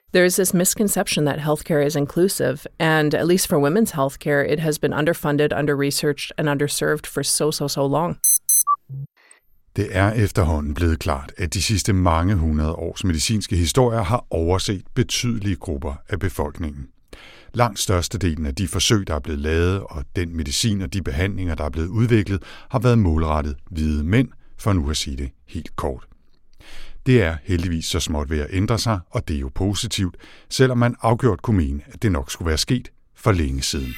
There is this misconception that healthcare is inclusive, and at least for women's healthcare, it has been underfunded, under-researched, and underserved for so long. Det er efterhånden blevet klart, at de sidste mange hundrede års medicinske historier har overset betydelige grupper af befolkningen. Langt størstedelen af de forsøg, der er blevet lavet, og den medicin og de behandlinger, der er blevet udviklet, har været målrettet hvide mænd, for nu at sige det helt kort. Det er heldigvis så småt ved at ændre sig, og det er jo positivt, selvom man afgjort kunne mene, at det nok skulle være sket for længe siden.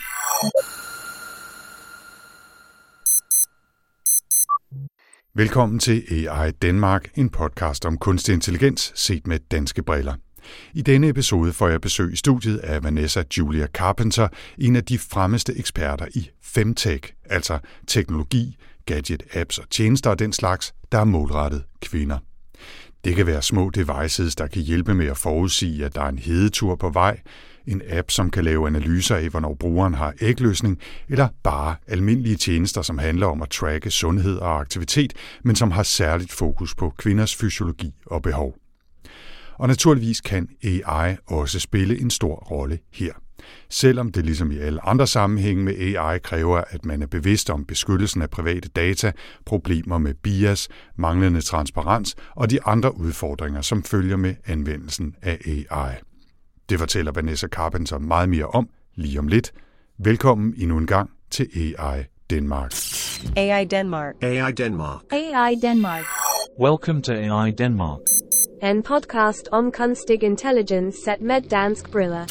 Velkommen til AI Danmark, en podcast om kunstig intelligens set med danske briller. I denne episode får jeg besøg i studiet af Vanessa Julia Carpenter, en af de fremmeste eksperter i femtech, altså teknologi, gadget, apps og tjenester og den slags, der er målrettet kvinder. Det kan være små devices, der kan hjælpe med at forudsige, at der er en hedetur på vej, en app, som kan lave analyser af, hvornår brugeren har ægløsning, eller bare almindelige tjenester, som handler om at tracke sundhed og aktivitet, men som har særligt fokus på kvinders fysiologi og behov. Og naturligvis kan AI også spille en stor rolle her. Selvom det ligesom i alle andre sammenhænge med AI kræver, at man er bevidst om beskyttelsen af private data, problemer med bias, manglende transparens og de andre udfordringer, som følger med anvendelsen af AI. Det fortæller Vanessa Carpenter meget mere om lige om lidt. Velkommen endnu en gang til AI Danmark. AI Denmark. AI Denmark. AI Denmark. Welcome to AI Denmark. En podcast om kunstig intelligens set med dansk briller.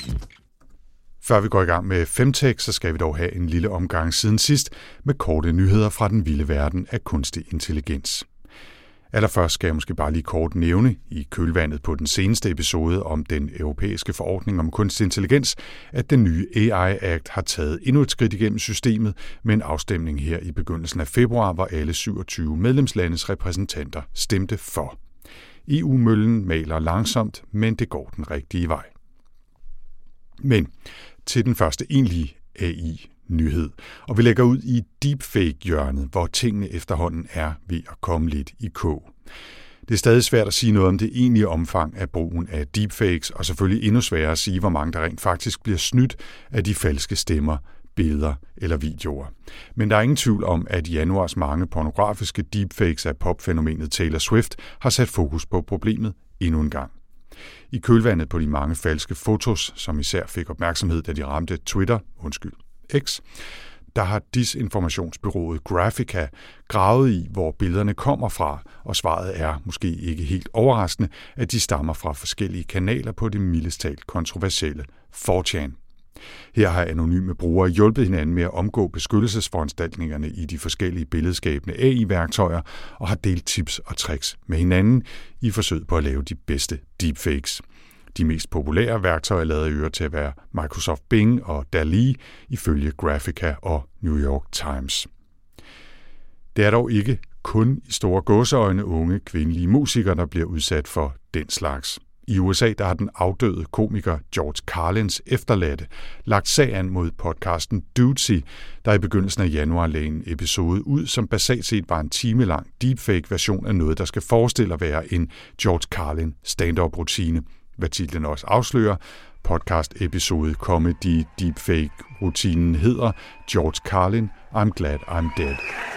Før vi går i gang med femtech, så skal vi dog have en lille omgang siden sidst med korte nyheder fra den vilde verden af kunstig intelligens. Allerførst skal jeg måske bare lige kort nævne i kølvandet på den seneste episode om den europæiske forordning om kunstig intelligens, at den nye AI Act har taget endnu et skridt igennem systemet med en afstemning her i begyndelsen af februar, hvor alle 27 medlemslandes repræsentanter stemte for. EU-møllen maler langsomt, men det går den rigtige vej. Men til den første egentlige AI-nyhed, og vi lægger ud i deepfake-hjørnet, hvor tingene efterhånden er ved at komme lidt i kog. Det er stadig svært at sige noget om det egentlige omfang af brugen af deepfakes, og selvfølgelig endnu sværere at sige, hvor mange der rent faktisk bliver snydt af de falske stemmer, billeder eller videoer. Men der er ingen tvivl om, at januars mange pornografiske deepfakes af popfænomenet Taylor Swift har sat fokus på problemet endnu en gang. I kølvandet på de mange falske fotos, som især fik opmærksomhed, da de ramte X, der har disinformationsbureauet Graphika gravet i, hvor billederne kommer fra, og svaret er måske ikke helt overraskende, at de stammer fra forskellige kanaler på det mildest talt kontroversielle 4chan. Her har anonyme brugere hjulpet hinanden med at omgå beskyttelsesforanstaltningerne i de forskellige billedskabende AI-værktøjer og har delt tips og tricks med hinanden i forsøget på at lave de bedste deepfakes. De mest populære værktøjer lader i øvrigt til at være Microsoft Bing og DALL-E ifølge Graphika og New York Times. Det er dog ikke kun i store gåseøjne unge kvindelige musikere, der bliver udsat for den slags. I USA der har den afdøde komiker George Carlins efterladte lagt sag an mod podcasten Dudesy, der i begyndelsen af januar lagde en episode ud, som basalt set var en timelang deepfake-version af noget, der skal forestille at være en George Carlin stand-up-rutine. Hvad titlen også afslører, podcast-episode Comedy Deepfake-rutinen hedder George Carlin, I'm Glad I'm Dead.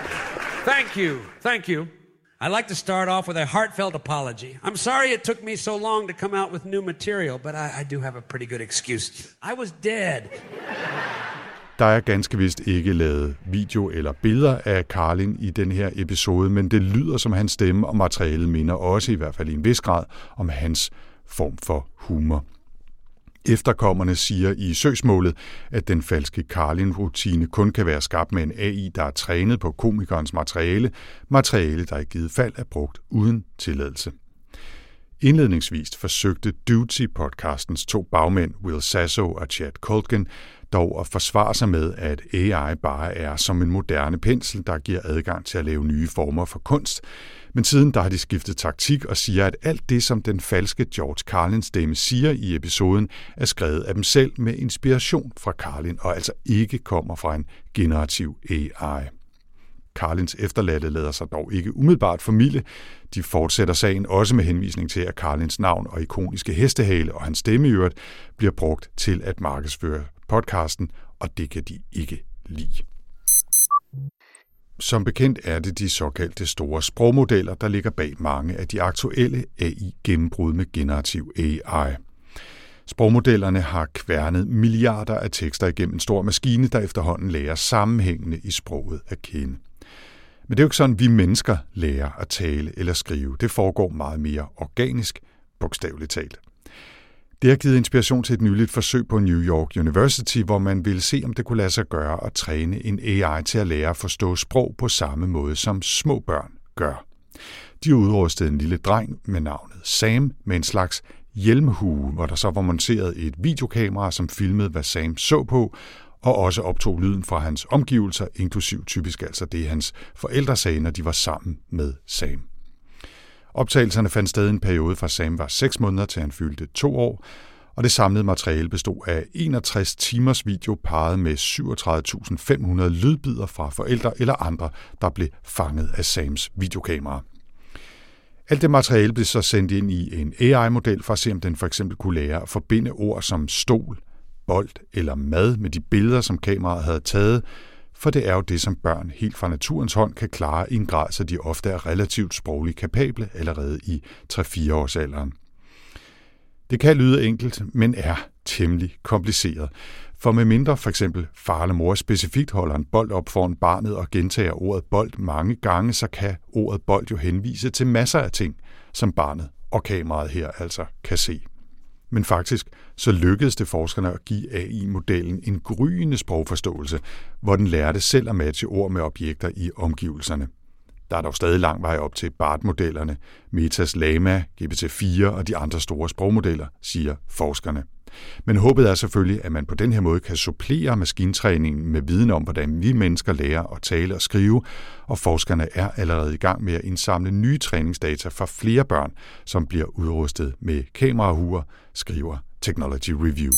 Thank you. I'd like to start off with a heartfelt apology. I'm sorry it took me so long to come out with new material, but I do have a pretty good excuse. I was dead. Der er ganske vist ikke lavet video eller billeder af Carlin i den her episode, men det lyder som hans stemme, og materialet minder også i hvert fald i en vis grad om hans form for humor. Efterkommerne siger i søgsmålet, at den falske Carlin-rutine kun kan være skabt med en AI, der er trænet på komikernes materiale, der i givet fald er brugt uden tilladelse. Indledningsvis forsøgte Dudesy-podcastens 2 bagmænd, Will Sasso og Chad Colgan, dog at forsvare sig med, at AI bare er som en moderne pensel, der giver adgang til at lave nye former for kunst. Men siden der har de skiftet taktik og siger, at alt det, som den falske George Carlins stemme siger i episoden, er skrevet af dem selv med inspiration fra Carlin, og altså ikke kommer fra en generativ AI. Carlins efterladte lader sig dog ikke umiddelbart formilde. De fortsætter sagen også med henvisning til, at Carlins navn og ikoniske hestehale og hans stemme i øvrigt bliver brugt til at markedsføre podcasten, og det kan de ikke lide. Som bekendt er det de såkaldte store sprogmodeller, der ligger bag mange af de aktuelle AI-gennembrud med generativ AI. Sprogmodellerne har kværnet milliarder af tekster igennem en stor maskine, der efterhånden lærer sammenhængende i sproget at kende. Men det er jo ikke sådan, vi mennesker lærer at tale eller skrive. Det foregår meget mere organisk, bogstaveligt talt. Det har givet inspiration til et nyligt forsøg på New York University, hvor man ville se, om det kunne lade sig gøre at træne en AI til at lære at forstå sprog på samme måde, som små børn gør. De udrustede en lille dreng med navnet Sam med en slags hjelmhue, hvor der så var monteret et videokamera, som filmede, hvad Sam så på, og også optog lyden fra hans omgivelser, inklusiv typisk altså det, hans forældre sagde, når de var sammen med Sam. Optagelserne fandt sted i en periode fra Sam var 6 måneder til han fyldte 2 år, og det samlede materiale bestod af 61 timers video parret med 37.500 lydbidder fra forældre eller andre, der blev fanget af Sams videokamera. Alt det materiale blev så sendt ind i en AI-model for at se, om den for eksempel kunne lære at forbinde ord som stol, bold eller mad med de billeder, som kameraet havde taget, for det er jo det, som børn helt fra naturens hånd kan klare i en grad, så de ofte er relativt sprogligt kapable allerede i 3-4 års alderen. Det kan lyde enkelt, men er temmelig kompliceret. For medmindre for eksempel far eller mor specifikt holder en bold op foran barnet og gentager ordet bold mange gange, så kan ordet bold jo henvise til masser af ting, som barnet og kameraet her altså kan se. Men faktisk så lykkedes det forskerne at give AI-modellen en gryende sprogforståelse, hvor den lærte selv at matche ord med objekter i omgivelserne. Der er dog stadig lang vej op til BART-modellerne, Metas Llama, GPT-4 og de andre store sprogmodeller, siger forskerne. Men håbet er selvfølgelig, at man på den her måde kan supplere maskintræningen med viden om, hvordan vi mennesker lærer at tale og skrive, og forskerne er allerede i gang med at indsamle nye træningsdata fra flere børn, som bliver udrustet med kamerahuer, skriver Technology Review.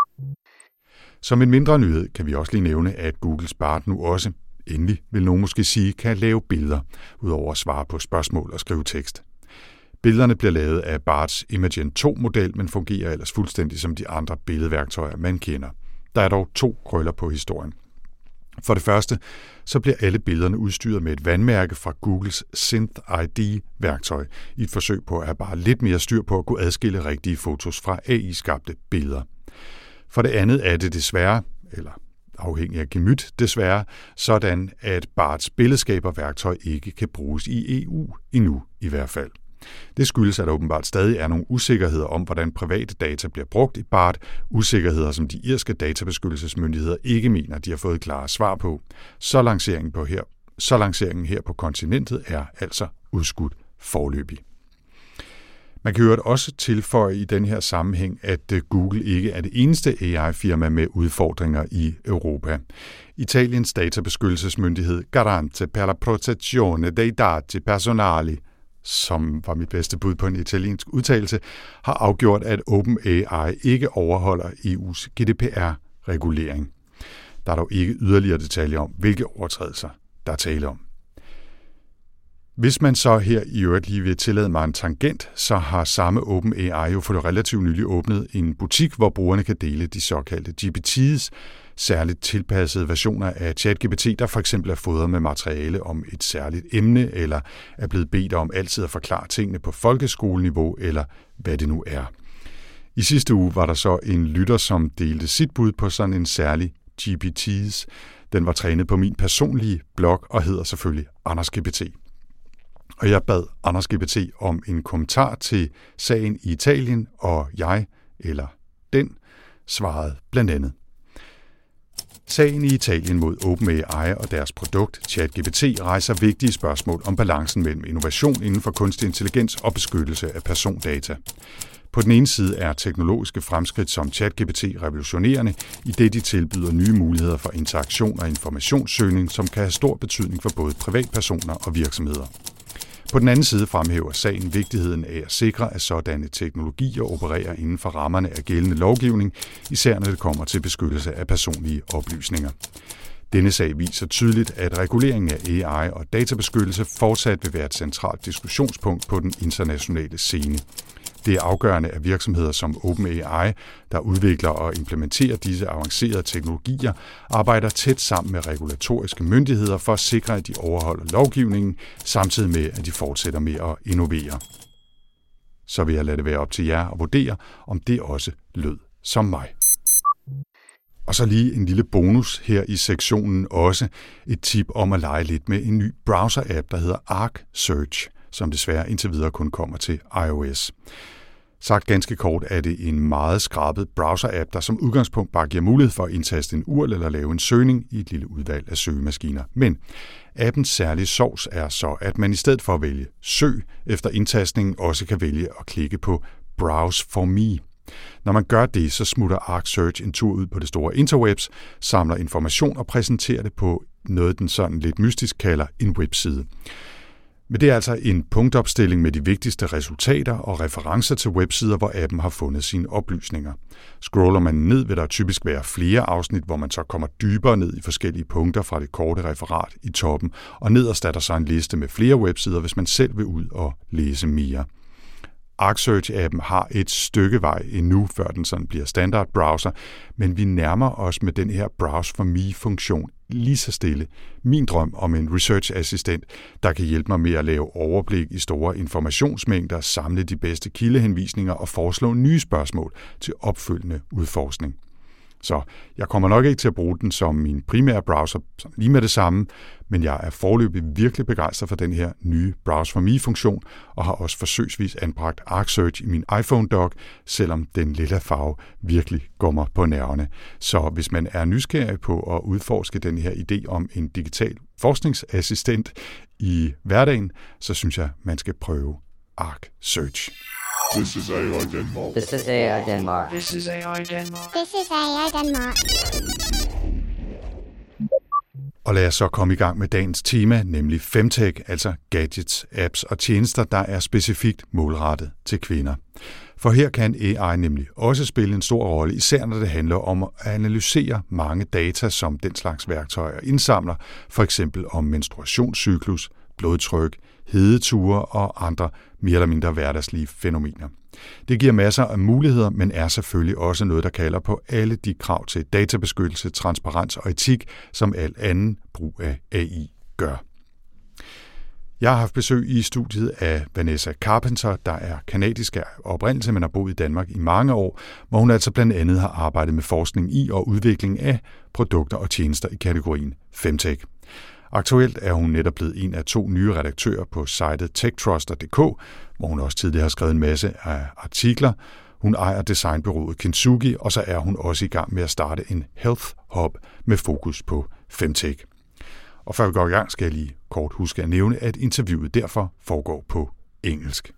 Som en mindre nyhed kan vi også lige nævne, at Googles BART nu også, endelig vil nogen måske sige, kan lave billeder, udover at svare på spørgsmål og skrive tekst. Billederne bliver lavet af BARTs Imagen 2-model, men fungerer ellers fuldstændig som de andre billedværktøjer, man kender. Der er dog 2 krøller på historien. For det første, så bliver alle billederne udstyret med et vandmærke fra Googles Synth ID-værktøj, i et forsøg på at have bare lidt mere styr på at kunne adskille rigtige fotos fra AI-skabte billeder. For det andet er det desværre, eller afhængig af gemyt desværre, sådan at BARTs billedskaberværktøj ikke kan bruges i EU, endnu i hvert fald. Det skyldes, at der åbenbart stadig er nogle usikkerheder om, hvordan private data bliver brugt i BART, usikkerheder, som de irske databeskyttelsesmyndigheder ikke mener, de har fået klare svar på. Så lanceringen her på kontinentet er altså udskudt foreløbig. Man kan jo også tilføje i den her sammenhæng, at Google ikke er det eneste AI-firma med udfordringer i Europa. Italiens databeskyttelsesmyndighed Garante per la protezione dei dati personali, som var mit bedste bud på en italiensk udtalelse, har afgjort, at OpenAI ikke overholder EU's GDPR-regulering. Der er dog ikke yderligere detaljer om, hvilke overtrædelser der er tale om. Hvis man så her i øvrigt lige vil tillade mig en tangent, så har samme OpenAI jo for det relativt nylig åbnet en butik, hvor brugerne kan dele de såkaldte GPT's, særligt tilpassede versioner af ChatGPT, der for eksempel er fodret med materiale om et særligt emne, eller er blevet bedt om altid at forklare tingene på folkeskoleniveau, eller hvad det nu er. I sidste uge var der så en lytter, som delte sit bud på sådan en særlig GPT's. Den var trænet på min personlige blog og hedder selvfølgelig AndersGPT. Og jeg bad AndersGPT om en kommentar til sagen i Italien, og jeg, eller den, svarede blandt andet: Sagen i Italien mod OpenAI og deres produkt ChatGPT rejser vigtige spørgsmål om balancen mellem innovation inden for kunstig intelligens og beskyttelse af persondata. På den ene side er teknologiske fremskridt som ChatGPT revolutionerende, i det de tilbyder nye muligheder for interaktion og informationssøgning, som kan have stor betydning for både privatpersoner og virksomheder. På den anden side fremhæver sagen vigtigheden af at sikre, at sådanne teknologier opererer inden for rammerne af gældende lovgivning, især når det kommer til beskyttelse af personlige oplysninger. Denne sag viser tydeligt, at reguleringen af AI og databeskyttelse fortsat vil være et centralt diskussionspunkt på den internationale scene. Det er afgørende, at virksomheder som OpenAI, der udvikler og implementerer disse avancerede teknologier, arbejder tæt sammen med regulatoriske myndigheder for at sikre, at de overholder lovgivningen, samtidig med, at de fortsætter med at innovere. Så vil jeg lade det være op til jer at vurdere, om det også lød som mig. Og så lige en lille bonus her i sektionen også et tip om at lege lidt med en ny browser-app, der hedder Arc Search, som desværre indtil videre kun kommer til iOS. Sagt ganske kort er det en meget skrabet browser-app, der som udgangspunkt bare giver mulighed for at indtaste en URL eller lave en søgning i et lille udvalg af søgemaskiner. Men appens særlige sovs er så, at man i stedet for at vælge søg efter indtastningen også kan vælge at klikke på Browse for me. Når man gør det, så smutter Arc Search en tur ud på det store interwebs, samler information og præsenterer det på noget, den sådan lidt mystisk kalder en webside. Men det er altså en punktopstilling med de vigtigste resultater og referencer til websider, hvor appen har fundet sine oplysninger. Scroller man ned, vil der typisk være flere afsnit, hvor man så kommer dybere ned i forskellige punkter fra det korte referat i toppen, og nederst er der så en liste med flere websider, hvis man selv vil ud og læse mere. Arc Search-appen har et stykke vej endnu, før den sådan bliver standard browser, men vi nærmer os med den her Browse for me-funktion lige så stille min drøm om en research-assistent, der kan hjælpe mig med at lave overblik i store informationsmængder, samle de bedste kildehenvisninger og foreslå nye spørgsmål til opfølgende udforskning. Så jeg kommer nok ikke til at bruge den som min primære browser lige med det samme, men jeg er foreløbig virkelig begejstret for den her nye Browse for me-funktion, og har også forsøgsvis anbragt Arc Search i min iPhone-dock, selvom den lille farve virkelig går mig på nerverne. Så hvis man er nysgerrig på at udforske den her idé om en digital forskningsassistent i hverdagen, så synes jeg, man skal prøve Arc Search. This is AI Denmark. This is AI Denmark. This is AI Denmark. This is AI Denmark. Og lad os så komme i gang med dagens tema, nemlig femtech, altså gadgets, apps og tjenester, der er specifikt målrettet til kvinder. For her kan AI nemlig også spille en stor rolle, især når det handler om at analysere mange data, som den slags værktøjer indsamler, for eksempel om menstruationscyklus, blodtryk, hedeture og andre mere eller mindre hverdagslige fænomener. Det giver masser af muligheder, men er selvfølgelig også noget, der kalder på alle de krav til databeskyttelse, transparens og etik, som al anden brug af AI gør. Jeg har haft besøg i studiet af Vanessa Carpenter, der er kanadisk af oprindelse, men har boet i Danmark i mange år, hvor hun altså blandt andet har arbejdet med forskning i og udvikling af produkter og tjenester i kategorien femtech. Aktuelt er hun netop blevet en af 2 nye redaktører på sitet techtruster.dk, hvor hun også tidligere har skrevet en masse af artikler. Hun ejer designbureauet Kintsugi, og så er hun også i gang med at starte en health hub med fokus på femtech. Og før vi går i gang, skal jeg lige kort huske at nævne, at interviewet derfor foregår på engelsk.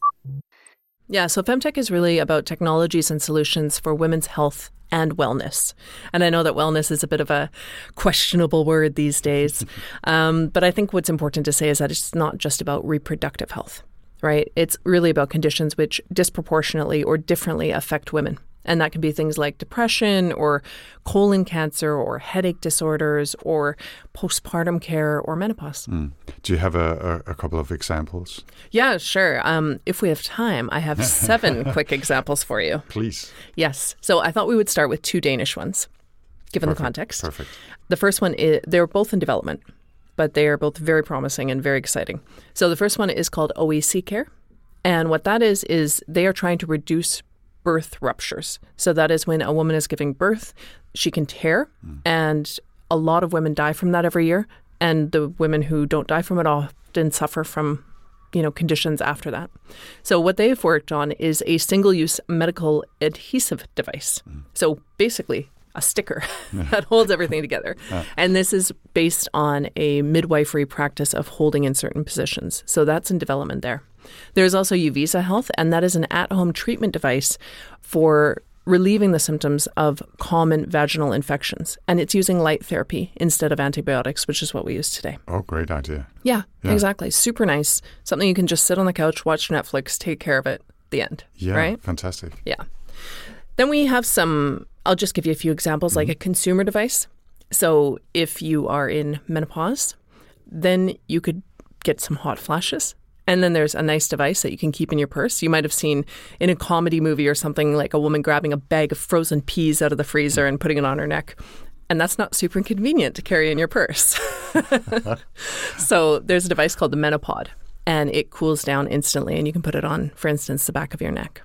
Yeah, so femtech is really about technologies and solutions for women's health and wellness. And I know that wellness is a bit of a questionable word these days. But I think what's important to say is that it's not just about reproductive health, right? It's really about conditions which disproportionately or differently affect women. And that can be things like depression or colon cancer or headache disorders or postpartum care or menopause. Do you have a couple of examples? Yeah, sure. If we have time, I have 7 quick examples for you. Please. Yes. So I thought we would start with 2 Danish ones, given the context. Perfect. The first one is, they're both in development, but they are both very promising and very exciting. So the first one is called OEC Care. And what that is they are trying to reduce birth ruptures. So that is when a woman is giving birth, she can tear, and a lot of women die from that every year. And the women who don't die from it often suffer from, conditions after that. So what they've worked on is a single-use medical adhesive device. So basically a sticker that holds everything together. And this is based on a midwifery practice of holding in certain positions. So that's in development there. There's also Uvisa Health, and that is an at-home treatment device for relieving the symptoms of common vaginal infections. And it's using light therapy instead of antibiotics, which is what we use today. Oh, great idea. Yeah, exactly. Super nice. Something you can just sit on the couch, watch Netflix, take care of it, the end. Yeah, right? Fantastic. Yeah. Then we have I'll just give you a few examples, like a consumer device. So if you are in menopause, then you could get some hot flashes. And then there's a nice device that you can keep in your purse. You might have seen in a comedy movie or something like a woman grabbing a bag of frozen peas out of the freezer and putting it on her neck. And that's not super convenient to carry in your purse. So there's a device called the Menopod, and it cools down instantly, and you can put it on, for instance, the back of your neck.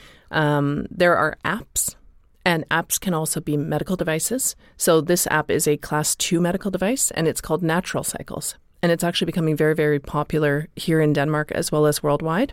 There are apps, and apps can also be medical devices. So this app is a Class 2 medical device, and it's called Natural Cycles. And it's actually becoming very, very popular here in Denmark as well as worldwide.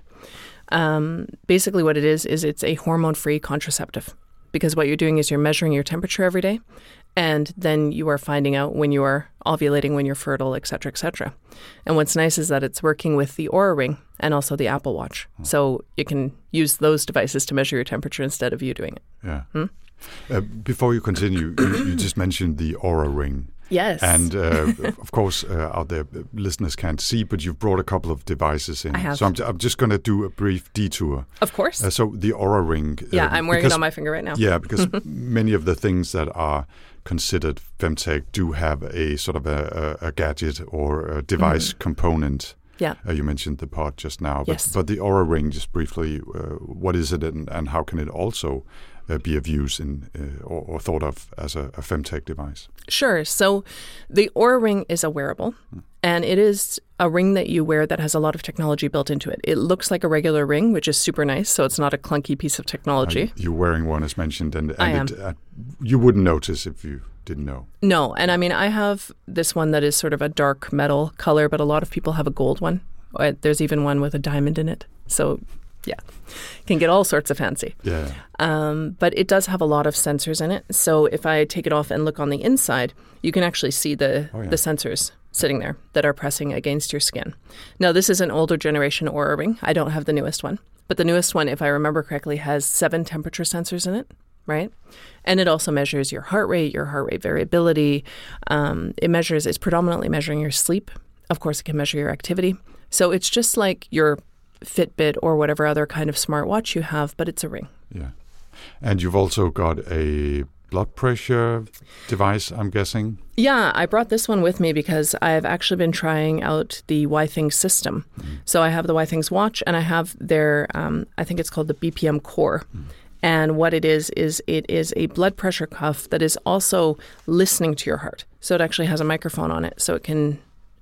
Basically what it is it's a hormone-free contraceptive. Because what you're doing is you're measuring your temperature every day, and then you are finding out when you are ovulating, when you're fertile, et cetera, et cetera. And what's nice is that it's working with the Oura Ring and also the Apple Watch. So you can use those devices to measure your temperature instead of you doing it. Yeah. Before you continue, you just mentioned the Oura Ring. Yes. And of course, out there, listeners can't see, but you've brought a couple of devices in. I have. So I'm just going to do a brief detour. Of course. So the Oura Ring. Yeah, I'm wearing it on my finger right now. Yeah, because many of the things that are considered femtech do have a sort of a gadget or a device component. Yeah. You mentioned the pod just now. Yes. But the Oura Ring, just briefly, what is it and how can it also be of use in or thought of as a femtech device? Sure. So the Oura Ring is a wearable, and it is a ring that you wear that has a lot of technology built into it. It looks like a regular ring, which is super nice, so it's not a clunky piece of technology. You're wearing one, as mentioned, and I am. You wouldn't notice if you didn't know. No, and I mean, I have this one that is sort of a dark metal color, but a lot of people have a gold one. There's even one with a diamond in it. So yeah, can get all sorts of fancy. Yeah. But it does have a lot of sensors in it. So if I take it off and look on the inside, you can actually see the sensors sitting there that are pressing against your skin. Now, this is an older generation Oura Ring. I don't have the newest one. But the newest one, if I remember correctly, has 7 temperature sensors in it, right? And it also measures your heart rate variability. It's predominantly measuring your sleep. Of course, it can measure your activity. So it's just like your Fitbit or whatever other kind of smartwatch you have, but it's a ring. Yeah. And you've also got a blood pressure device, I'm guessing? Yeah, I brought this one with me because I've actually been trying out the Withings system. So I have the Withings watch, and I have their, I think it's called the BPM Core. And what it is it is a blood pressure cuff that is also listening to your heart. So it actually has a microphone on it, so it can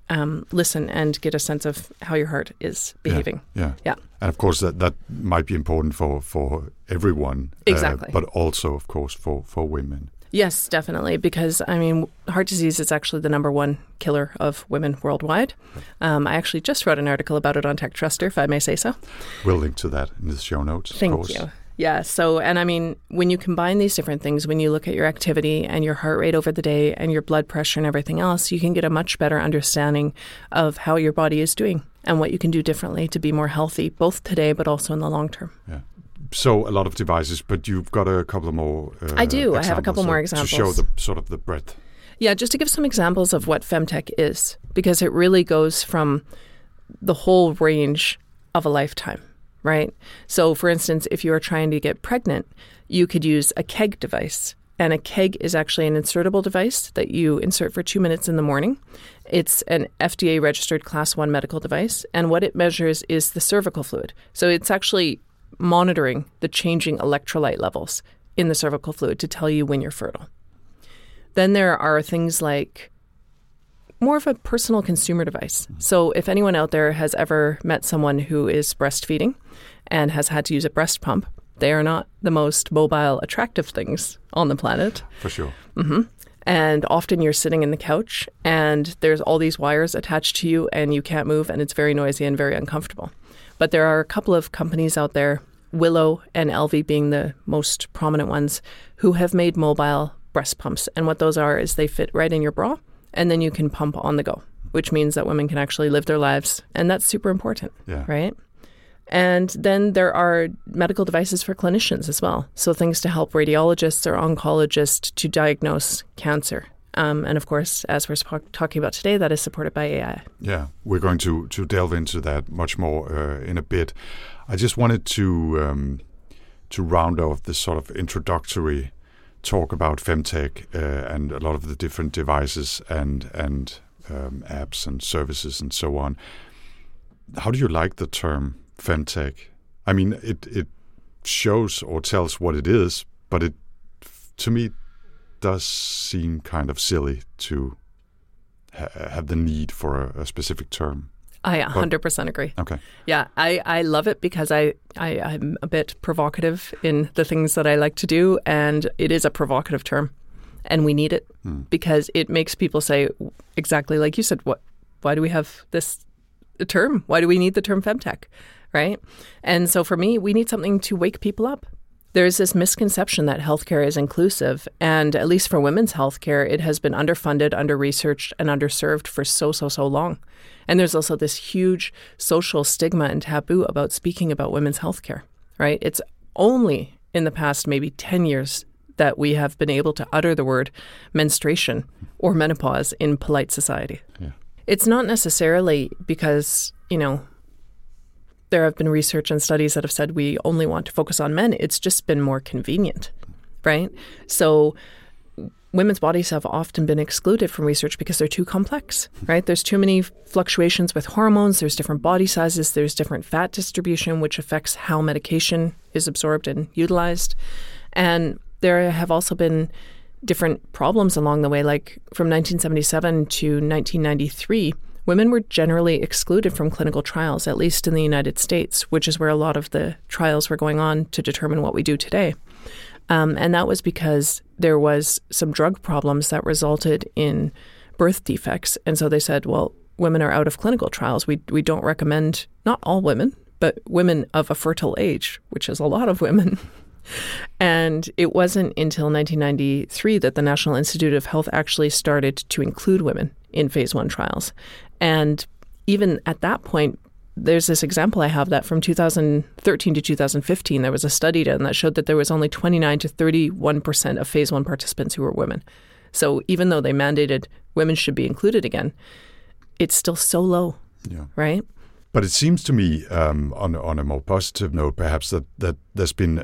listen and get a sense of how your heart is behaving. Yeah. And of course, that might be important for everyone. Exactly. But also, of course, for women. Yes, definitely. Because, I mean, heart disease is actually the number one killer of women worldwide. I actually just wrote an article about it on Tech Truster, if I may say so. We'll link to that in the show notes, of course. Thank you. Yeah. So, and I mean, when you combine these different things, when you look at your activity and your heart rate over the day and your blood pressure and everything else, you can get a much better understanding of how your body is doing and what you can do differently to be more healthy, both today but also in the long term. Yeah. So a lot of devices, but you've got a couple more I do. I have a couple more examples. To show the sort of the breadth. Yeah, just to give some examples of what femtech is, because it really goes from the whole range of a lifetime. Right? So, for instance, if you are trying to get pregnant, you could use a KEG device. And a KEG is actually an insertable device that you insert for 2 minutes in the morning. It's an FDA-registered Class 1 medical device. And what it measures is the cervical fluid. So it's actually monitoring the changing electrolyte levels in the cervical fluid to tell you when you're fertile. Then there are things like more of a personal consumer device. So if anyone out there has ever met someone who is breastfeeding and has had to use a breast pump, they are not the most mobile, attractive things on the planet. For sure. Mm-hmm. And often you're sitting in the couch and there's all these wires attached to you and you can't move and it's very noisy and very uncomfortable. But there are a couple of companies out there, Willow and Elvie being the most prominent ones, who have made mobile breast pumps. And what those are is they fit right in your bra. And then you can pump on the go, which means that women can actually live their lives. And that's super important, right? And then there are medical devices for clinicians as well. So things to help radiologists or oncologists to diagnose cancer. And of course, as we're talking about today, that is supported by AI. Yeah, we're going to delve into that much more in a bit. I just wanted to round off this sort of introductory talk about femtech and a lot of the different devices and apps and services and so on. How do you like the term femtech? I mean, it shows or tells what it is, but it, to me, does seem kind of silly to have the need for a specific term. I 100% agree. Okay. Yeah, I love it because I'm a bit provocative in the things that I like to do, and it is a provocative term, and we need it because it makes people say exactly like you said. Why do we have this term? Why do we need the term femtech, right? And so for me, we need something to wake people up. There's this misconception that healthcare is inclusive, and at least for women's healthcare, it has been underfunded, under-researched, and underserved for so long. And there's also this huge social stigma and taboo about speaking about women's healthcare, right? It's only in the past maybe 10 years that we have been able to utter the word menstruation or menopause in polite society. Yeah. It's not necessarily because, there have been research and studies that have said we only want to focus on men. It's just been more convenient, right? So women's bodies have often been excluded from research because they're too complex, right? There's too many fluctuations with hormones. There's different body sizes. There's different fat distribution, which affects how medication is absorbed and utilized. And there have also been different problems along the way, like from 1977 to 1993, women were generally excluded from clinical trials, at least in the United States, which is where a lot of the trials were going on to determine what we do today. And that was because there was some drug problems that resulted in birth defects. And so they said, well, women are out of clinical trials. We don't recommend, not all women, but women of a fertile age, which is a lot of women. And it wasn't until 1993 that the National Institute of Health actually started to include women in phase 1 trials. And even at that point, there's this example I have that from 2013 to 2015, there was a study done that showed that there was only 29 to 31% of phase 1 participants who were women. So even though they mandated women should be included again, it's still so low, right? But it seems to me, on a more positive note, perhaps that there's been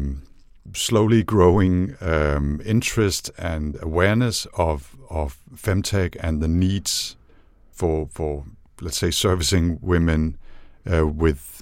slowly growing interest and awareness of femtech and the needs for let's say servicing women with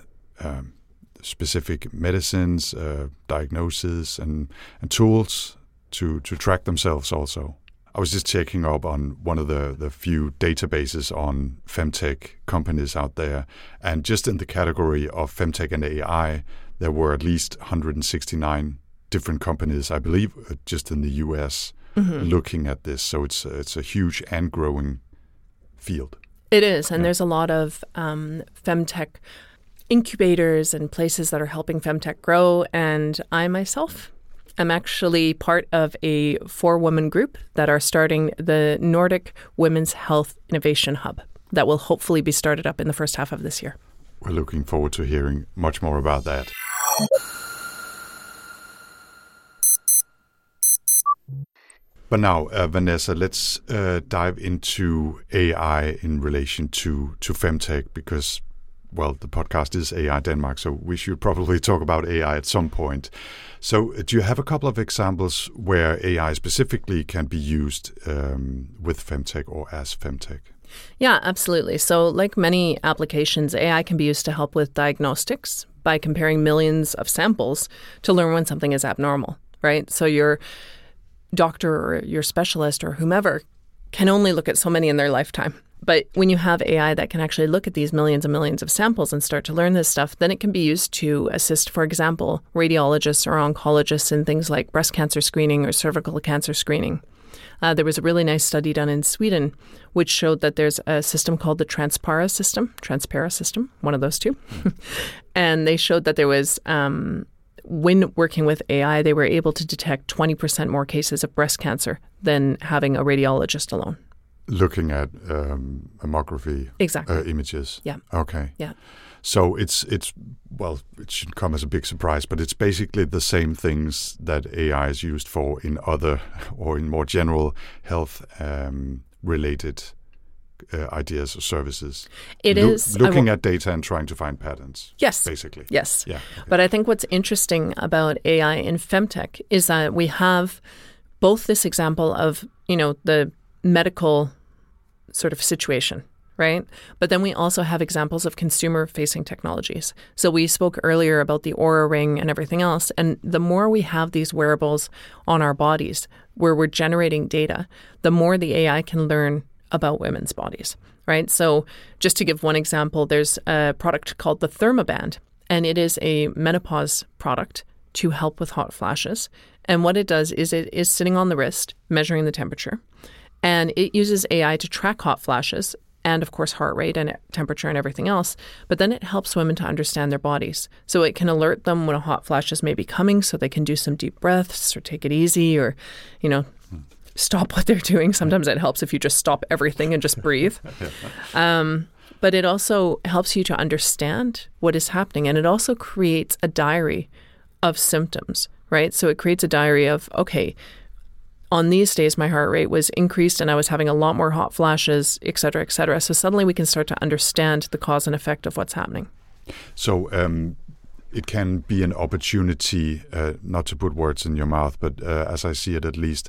specific medicines, diagnoses, and tools to track themselves. Also, I was just checking up on one of the few databases on femtech companies out there, and just in the category of femtech and AI, there were at least 169 different companies, I believe, just in the US, looking at this. So it's a huge and growing field. It is, and there's a lot of femtech incubators and places that are helping femtech grow. And I myself am actually part of a 4-woman group that are starting the Nordic Women's Health Innovation Hub that will hopefully be started up in the first half of this year. We're looking forward to hearing much more about that. But now, Vanessa, let's dive into AI in relation to femtech because, well, the podcast is AI Denmark, so we should probably talk about AI at some point. So do you have a couple of examples where AI specifically can be used with femtech or as femtech? Yeah, absolutely. So like many applications, AI can be used to help with diagnostics by comparing millions of samples to learn when something is abnormal, right? So your doctor or your specialist or whomever can only look at so many in their lifetime. But when you have AI that can actually look at these millions and millions of samples and start to learn this stuff, then it can be used to assist, for example, radiologists or oncologists in things like breast cancer screening or cervical cancer screening. There was a really nice study done in Sweden which showed that there's a system called the Transpara system, one of those two. And they showed that there was, when working with AI, they were able to detect 20% more cases of breast cancer than having a radiologist alone. Looking at mammography images. Yeah. Okay. Yeah. So it's well, it shouldn't come as a big surprise, but it's basically the same things that AI is used for in other or in more general health related ideas or services. It is looking at data and trying to find patterns. Yes. Basically. Yes. Yeah. Okay. But I think what's interesting about AI in femtech is that we have both this example of, the medical sort of situation, right? But then we also have examples of consumer-facing technologies. So we spoke earlier about the Oura Ring and everything else. And the more we have these wearables on our bodies where we're generating data, the more the AI can learn about women's bodies, right? So just to give one example, there's a product called the ThermaBand, and it is a menopause product to help with hot flashes. And what it does is it is sitting on the wrist, measuring the temperature, and it uses AI to track hot flashes and, of course, heart rate and temperature and everything else. But then it helps women to understand their bodies. So it can alert them when a hot flash may be coming so they can do some deep breaths or take it easy or, stop what they're doing. Sometimes it helps if you just stop everything and just breathe. But it also helps you to understand what is happening. And it also creates a diary of symptoms, right? So it creates a diary of, okay, on these days, my heart rate was increased and I was having a lot more hot flashes, et cetera, et cetera. So suddenly we can start to understand the cause and effect of what's happening. So it can be an opportunity, not to put words in your mouth, but as I see it at least,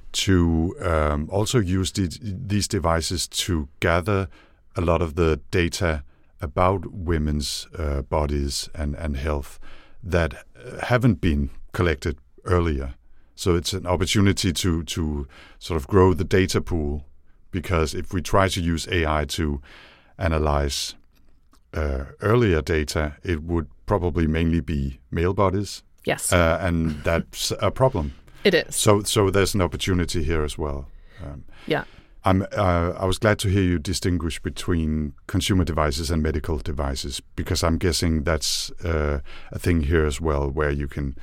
to also use these devices to gather a lot of the data about women's bodies and health that haven't been collected earlier. So it's an opportunity to sort of grow the data pool, because if we try to use AI to analyze earlier data, it would probably mainly be male bodies. Yes. And that's a problem. It is. So there's an opportunity here as well. Yeah. I was glad to hear you distinguish between consumer devices and medical devices, because I'm guessing that's a thing here as well, where you can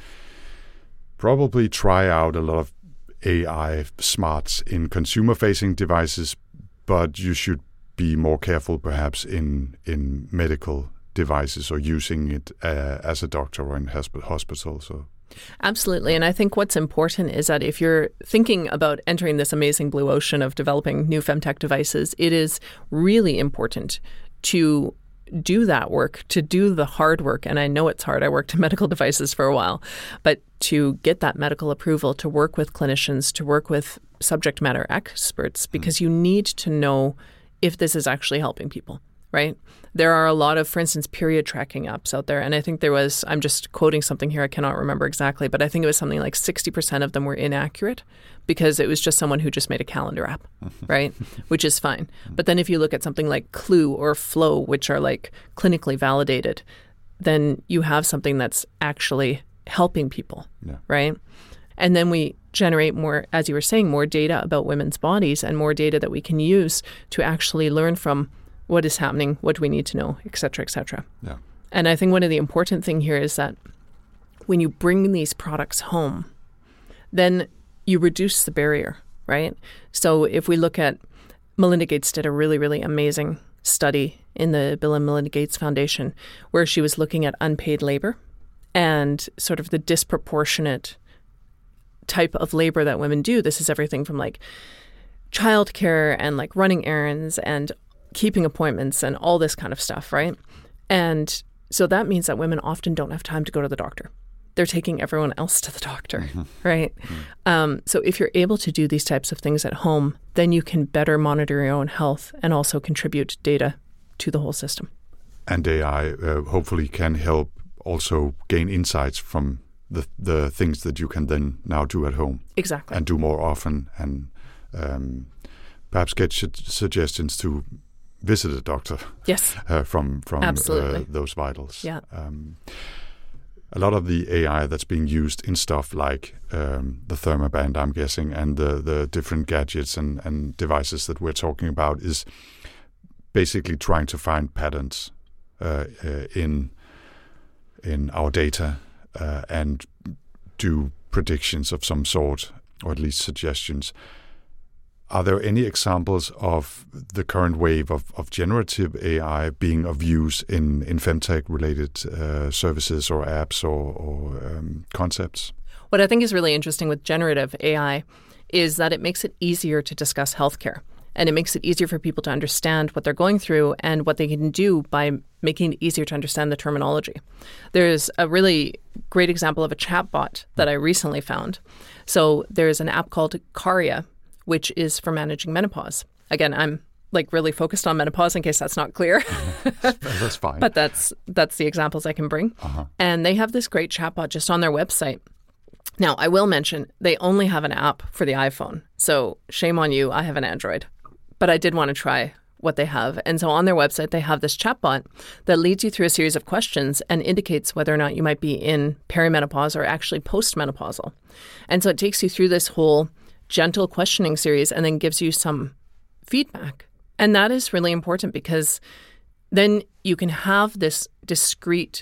probably try out a lot of AI smarts in consumer-facing devices, but you should be more careful perhaps in medical devices or using it as a doctor or in hospital. So. Absolutely. And I think what's important is that if you're thinking about entering this amazing blue ocean of developing new femtech devices, it is really important to do that work, to do the hard work. And I know it's hard. I worked in medical devices for a while, but to get that medical approval, to work with clinicians, to work with subject matter experts, because you need to know if this is actually helping people, right? There are a lot of, for instance, period tracking apps out there. And I think there was, I'm just quoting something here, I cannot remember exactly, but I think it was something like 60% of them were inaccurate because it was just someone who just made a calendar app, right? Which is fine. But then if you look at something like Clue or Flow, which are like clinically validated, then you have something that's actually helping people, right? And then we generate more, as you were saying, more data about women's bodies and more data that we can use to actually learn from what is happening, what do we need to know, et cetera, et cetera. Yeah. And I think one of the important thing here is that when you bring these products home, then you reduce the barrier, right? So if we look at, Melinda Gates did a really, really amazing study in the Bill and Melinda Gates Foundation where she was looking at unpaid labor and sort of the disproportionate type of labor that women do. This is everything from like childcare and like running errands and keeping appointments and all this kind of stuff, right? And so that means that women often don't have time to go to the doctor. They're taking everyone else to the doctor, right? So if you're able to do these types of things at home, then you can better monitor your own health and also contribute data to the whole system. And AI hopefully can help also gain insights from the things that you can then now do at home. Exactly. And do more often, and perhaps get suggestions to visit a doctor. Yes. From those vitals. Yeah. A lot of the AI that's being used in stuff like the ThermaBand, I'm guessing, and the different gadgets and devices that we're talking about is basically trying to find patterns in our data and do predictions of some sort, or at least suggestions. Are there any examples of the current wave of generative AI being of use in femtech-related services or apps or concepts? What I think is really interesting with generative AI is that it makes it easier to discuss healthcare. and it makes it easier for people to understand what they're going through and what they can do by making it easier to understand the terminology. There's a really great example of a chatbot that I recently found. So there's an app called Caria, which is for managing menopause. Again, I'm really focused on menopause in case that's not clear. That's fine. But that's the examples I can bring. And they have this great chatbot just on their website. Now, I will mention they only have an app for the iPhone. So shame on you, I have an Android. But I did want to try what they have. And so on their website, they have this chatbot that leads you through a series of questions and indicates whether or not you might be in perimenopause or actually postmenopausal. And so it takes you through this whole gentle questioning series and then gives you some feedback. And that is really important because then you can have this discreet,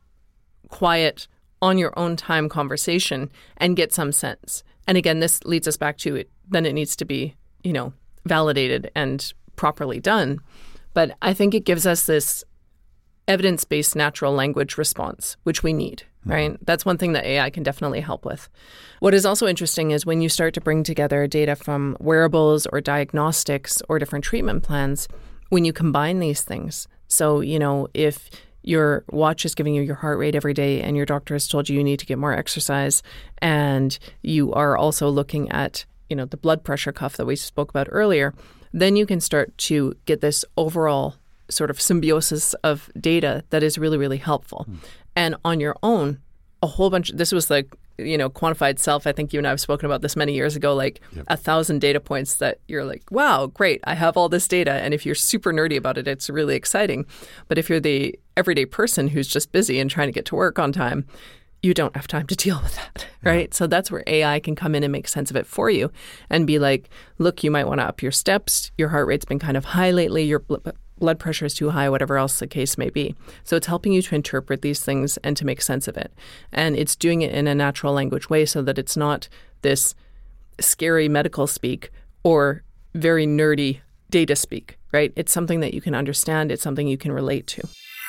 quiet, on your own time conversation and get some sense. And again, this leads us back to it. Then it needs to be, validated and properly done. But I think it gives us this evidence-based natural language response, which we need, right? That's one thing that AI can definitely help with. What is also interesting is when you start to bring together data from wearables or diagnostics or different treatment plans, when you combine these things. So, if your watch is giving you your heart rate every day and your doctor has told you need to get more exercise, and you are also looking at, the blood pressure cuff that we spoke about earlier, then you can start to get this overall sort of symbiosis of data that is really, really helpful. And on your own, a whole bunch, this was quantified self. I think you and I have spoken about this many years ago, 1,000 data points that you're like, wow, great, I have all this data. And if you're super nerdy about it, it's really exciting. But if you're the everyday person who's just busy and trying to get to work on time, you don't have time to deal with that, right? So that's where AI can come in and make sense of it for you and be like, look, you might want to up your steps. Your heart rate's been kind of high lately. Your blood pressure is too high, whatever else the case may be. So it's helping you to interpret these things and to make sense of it. And it's doing it in a natural language way so that it's not this scary medical speak or very nerdy data speak, right? It's something that you can understand. It's something you can relate to.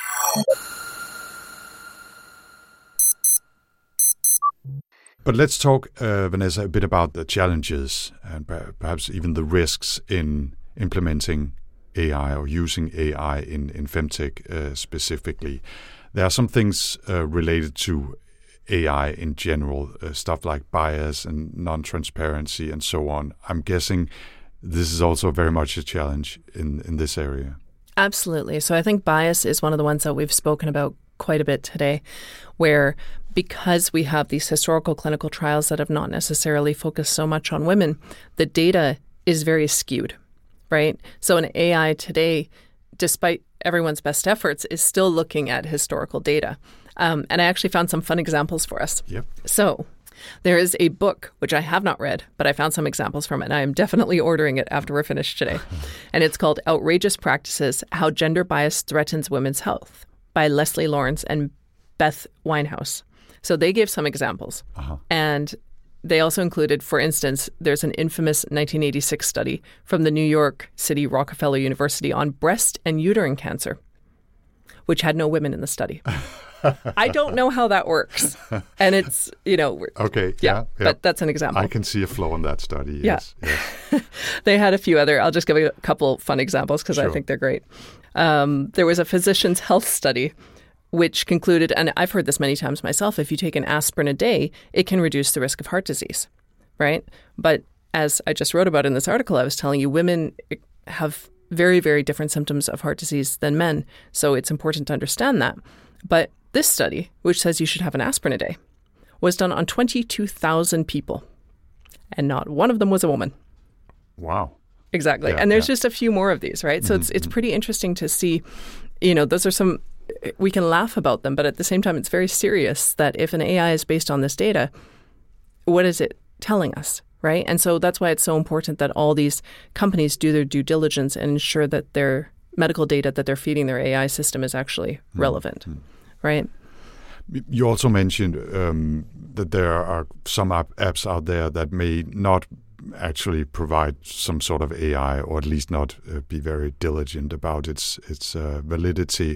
But let's talk, Vanessa, a bit about the challenges and perhaps even the risks in implementing AI or using AI in femtech specifically. There are some things related to AI in general, stuff like bias and non-transparency and so on. I'm guessing this is also very much a challenge in this area. Absolutely. So I think bias is one of the ones that we've spoken about quite a bit today, where because we have these historical clinical trials that have not necessarily focused so much on women, the data is very skewed, right? So an AI today, despite everyone's best efforts, is still looking at historical data. And I actually found some fun examples for us. Yep. So there is a book, which I have not read, but I found some examples from it, and I am definitely ordering it after we're finished today. And it's called Outrageous Practices, How Gender Bias Threatens Women's Health by Leslie Lawrence and Beth Winehouse. So they gave some examples. And they also included, for instance, there's an infamous 1986 study from the New York City Rockefeller University on breast and uterine cancer, which had no women in the study. I don't know how that works. And it's, Okay, yeah. But that's an example. I can see a flaw in that study, yes. Yeah. They had a few other, I'll just give you a couple fun examples because I think they're great. There was a physician's health study which concluded, and I've heard this many times myself, if you take an aspirin a day, it can reduce the risk of heart disease, right? But as I just wrote about in this article, I was telling you, women have very, very different symptoms of heart disease than men. So it's important to understand that. But this study, which says you should have an aspirin a day, was done on 22,000 people. And not one of them was a woman. Wow. Exactly. Yeah, and there's just a few more of these, right? So it's pretty interesting to see, those are some, we can laugh about them, but at the same time, it's very serious that if an AI is based on this data, what is it telling us, right? And so that's why it's so important that all these companies do their due diligence and ensure that their medical data that they're feeding their AI system is actually relevant, right? You also mentioned that there are some apps out there that may not actually provide some sort of AI, or at least not be very diligent about its validity.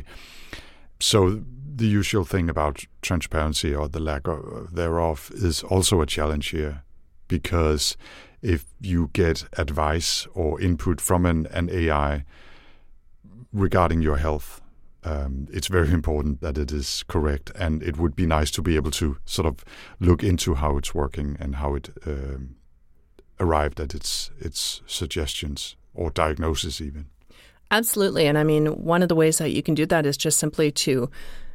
So the usual thing about transparency or the lack of thereof is also a challenge here, because if you get advice or input from an AI regarding your health, it's very important that it is correct, and it would be nice to be able to sort of look into how it's working and how it arrived at its suggestions or diagnosis even. Absolutely. And I mean, one of the ways that you can do that is just simply to,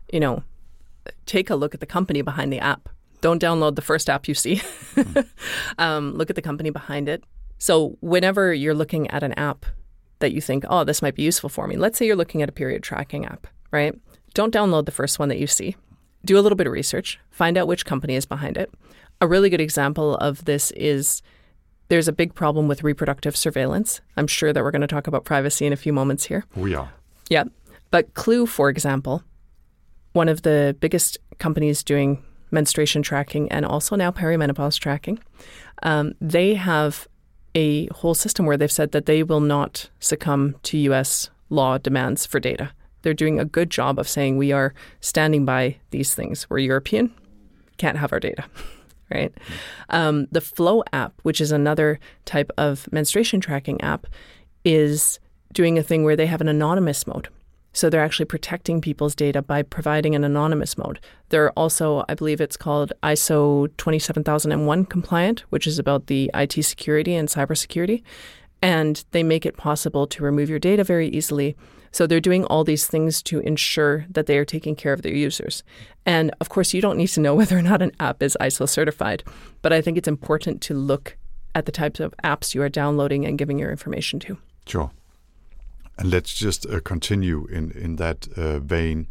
take a look at the company behind the app. Don't download the first app you see. Look at the company behind it. So whenever you're looking at an app that you think, oh, this might be useful for me. Let's say you're looking at a period tracking app, right? Don't download the first one that you see. Do a little bit of research. Find out which company is behind it. A really good example of this is there's a big problem with reproductive surveillance. I'm sure that we're going to talk about privacy in a few moments here. We are. Yeah. But Clue, for example, one of the biggest companies doing menstruation tracking and also now perimenopause tracking, they have a whole system where they've said that they will not succumb to U.S. law demands for data. They're doing a good job of saying we are standing by these things. We're European, can't have our data, right? The Flow app, which is another type of menstruation tracking app, is doing a thing where they have an anonymous mode. So they're actually protecting people's data by providing an anonymous mode. They're also, I believe it's called ISO 27001 compliant, which is about the IT security and cybersecurity. And they make it possible to remove your data very easily. So they're doing all these things to ensure that they are taking care of their users. And of course, you don't need to know whether or not an app is ISO certified. But I think it's important to look at the types of apps you are downloading and giving your information to. Sure. And let's just continue in that vein.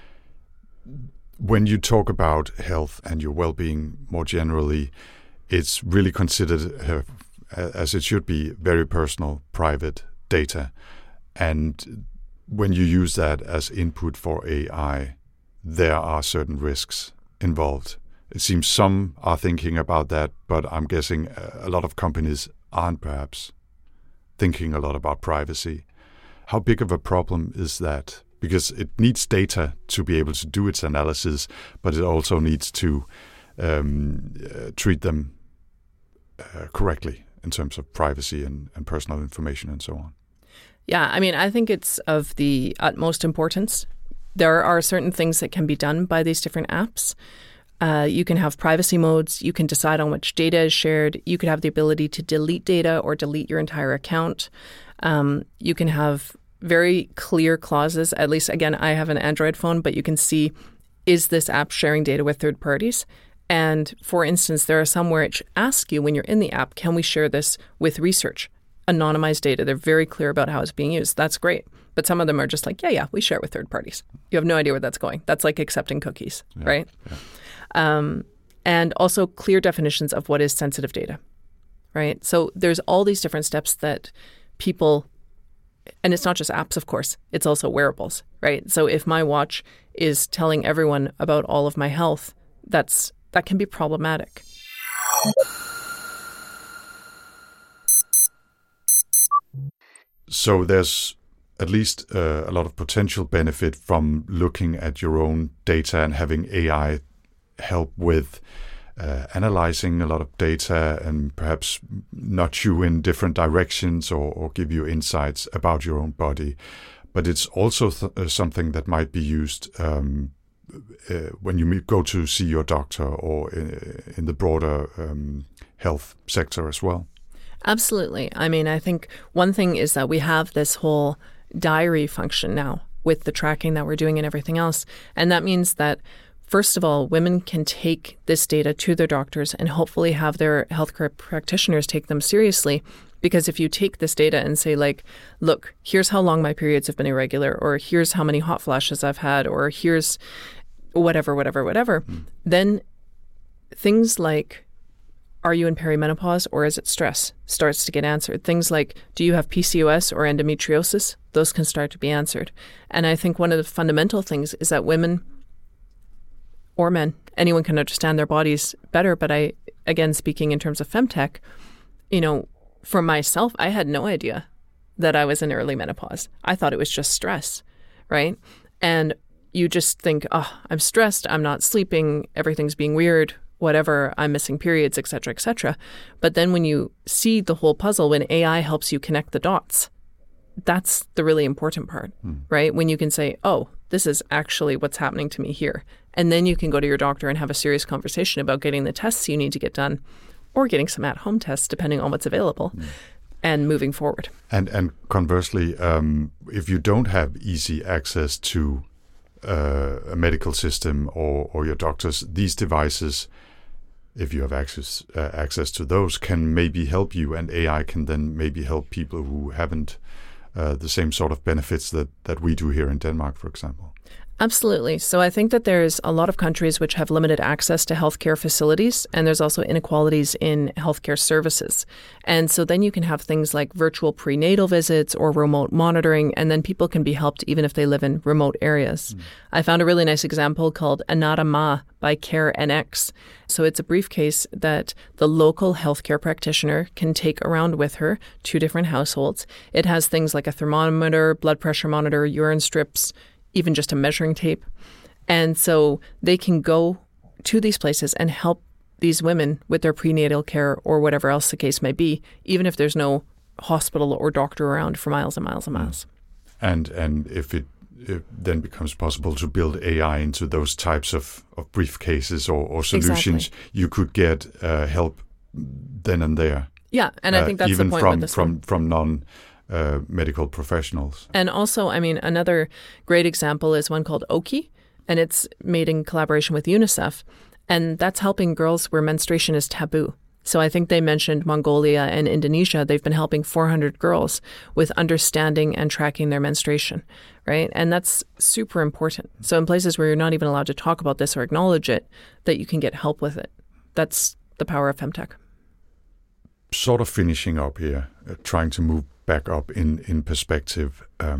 When you talk about health and your well-being more generally, it's really considered, as it should be, very personal, private data. And when you use that as input for AI, there are certain risks involved. It seems some are thinking about that, but I'm guessing a lot of companies aren't perhaps thinking a lot about privacy. How big of a problem is that? Because it needs data to be able to do its analysis, but it also needs to treat them correctly in terms of privacy and personal information and so on. Yeah, I mean, I think it's of the utmost importance. There are certain things that can be done by these different apps. You can have privacy modes. You can decide on which data is shared. You could have the ability to delete data or delete your entire account. You can have very clear clauses. At least, again, I have an Android phone, but you can see, is this app sharing data with third parties? And for instance, there are some where it asks you when you're in the app, can we share this with research? Anonymized data. They're very clear about how it's being used. That's great. But some of them are just like, yeah, we share it with third parties. You have no idea where that's going. That's like accepting cookies, right? Yeah. And also clear definitions of what is sensitive data, right? So there's all these different steps that people, and it's not just apps, of course, it's also wearables, right? So if my watch is telling everyone about all of my health, that can be problematic. So there's at least a lot of potential benefit from looking at your own data and having AI help with analyzing a lot of data and perhaps nudge you in different directions or give you insights about your own body. But it's also something that might be used when you go to see your doctor or in the broader health sector as well. Absolutely. I mean, I think one thing is that we have this whole diary function now with the tracking that we're doing and everything else. And that means that, first of all, women can take this data to their doctors and hopefully have their healthcare practitioners take them seriously. Because if you take this data and say, like, look, here's how long my periods have been irregular, or here's how many hot flashes I've had, or here's whatever, then things like, are you in perimenopause or is it stress, starts to get answered. Things like, do you have PCOS or endometriosis? Those can start to be answered. And I think one of the fundamental things is that women or men, anyone can understand their bodies better. But I, again, speaking in terms of femtech, for myself, I had no idea that I was in early menopause. I thought it was just stress, right? And you just think, oh, I'm stressed, I'm not sleeping, everything's being weird, whatever, I'm missing periods, et cetera, et cetera. But then when you see the whole puzzle, when AI helps you connect the dots, that's the really important part, right? When you can say, oh, this is actually what's happening to me here. And then you can go to your doctor and have a serious conversation about getting the tests you need to get done or getting some at-home tests, depending on what's available, and moving forward. And conversely, if you don't have easy access to a medical system or your doctors, these devices, if you have access to those, can maybe help you, and AI can then maybe help people who haven't the same sort of benefits that we do here in Denmark, for example. Absolutely. So I think that there's a lot of countries which have limited access to healthcare facilities, and there's also inequalities in healthcare services. And so then you can have things like virtual prenatal visits or remote monitoring, and then people can be helped even if they live in remote areas. I found a really nice example called Anata Ma by CareNX. So it's a briefcase that the local healthcare practitioner can take around with her to different households. It has things like a thermometer, blood pressure monitor, urine strips, even just a measuring tape. And so they can go to these places and help these women with their prenatal care or whatever else the case may be, even if there's no hospital or doctor around for miles and miles and miles. And if it then becomes possible to build AI into those types of briefcases or solutions, you could get help then and there. Yeah, and I think that's even the point with this one. from non-medical professionals. And also, I mean, another great example is one called Oki, and it's made in collaboration with UNICEF, and that's helping girls where menstruation is taboo. So I think they mentioned Mongolia and Indonesia. They've been helping 400 girls with understanding and tracking their menstruation, right? And that's super important. So in places where you're not even allowed to talk about this or acknowledge it, that you can get help with it. That's the power of femtech. Sort of finishing up here, trying to move back up in perspective.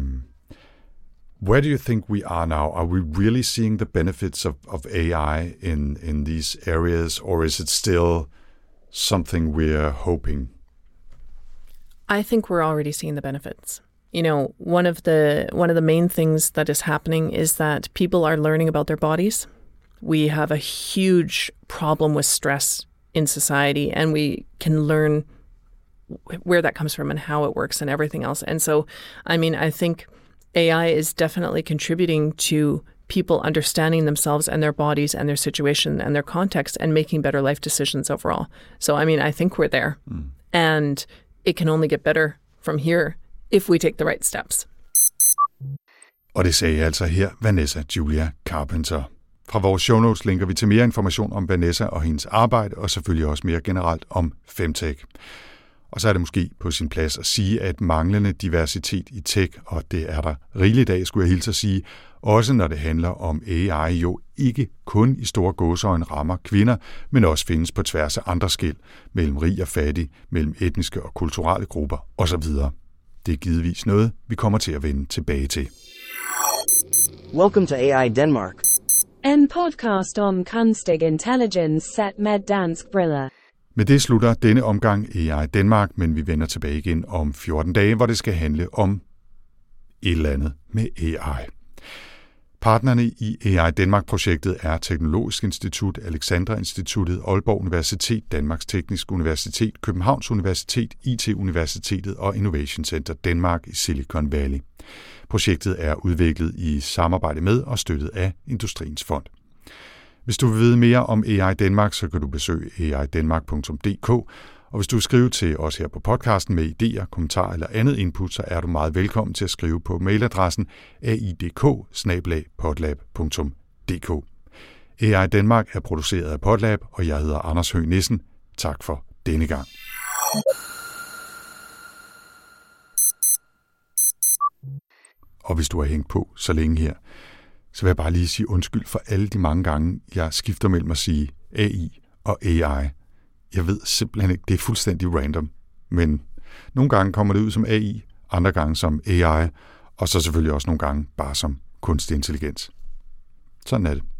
Where do you think we are now? Are we really seeing the benefits of AI in these areas, or is it still something we're hoping? I think we're already seeing the benefits. You know, one of the main things that is happening is that people are learning about their bodies. We have a huge problem with stress in society, and we can learn where that comes from and how it works and everything else. And so, I mean, I think AI is definitely contributing to people understanding themselves and their bodies and their situation and their context and making better life decisions overall. So, I mean, I think we're there. And it can only get better from here if we take the right steps. Og det sagde altså her Vanessa Julia Carpenter. Fra vores show notes linker vi til mere information om Vanessa og hendes arbejde, og selvfølgelig også mere generelt om femtech. Og så er det måske på sin plads at sige, at manglende diversitet i tech, og det er der rigeligt af, skulle jeg hilse at sige, også når det handler om AI, jo ikke kun i store gåseøjne rammer kvinder, men også findes på tværs af andre skel, mellem rig og fattig, mellem etniske og kulturelle grupper osv. Det er givetvis noget, vi kommer til at vende tilbage til. Welcome to AI Denmark. En podcast om kunstig intelligens set med dansk briller. Med det slutter denne omgang AI Danmark, men vi vender tilbage igen om 14 dage, hvor det skal handle om et eller andet med AI. Partnerne i AI Danmark-projektet er Teknologisk Institut, Alexandra Instituttet, Aalborg Universitet, Danmarks Tekniske Universitet, Københavns Universitet, IT-Universitetet og Innovation Center Denmark i Silicon Valley. Projektet er udviklet i samarbejde med og støttet af Industriens Fond. Hvis du vil vide mere om AI Danmark, så kan du besøge aidanmark.dk, og hvis du vil skrive til os her på podcasten med idéer, kommentarer eller andet input, så er du meget velkommen til at skrive på mailadressen aidk@podlab.dk. AI Danmark er produceret af Podlab, og jeg hedder Anders Høgh Nissen. Tak for denne gang. Og hvis du har hængt på så længe her, så vil jeg bare lige sige undskyld for alle de mange gange, jeg skifter mellem at sige AI og AI. Jeg ved simpelthen ikke, det er fuldstændig random, men nogle gange kommer det ud som AI, andre gange som AI, og så selvfølgelig også nogle gange bare som kunstig intelligens. Sådan er det.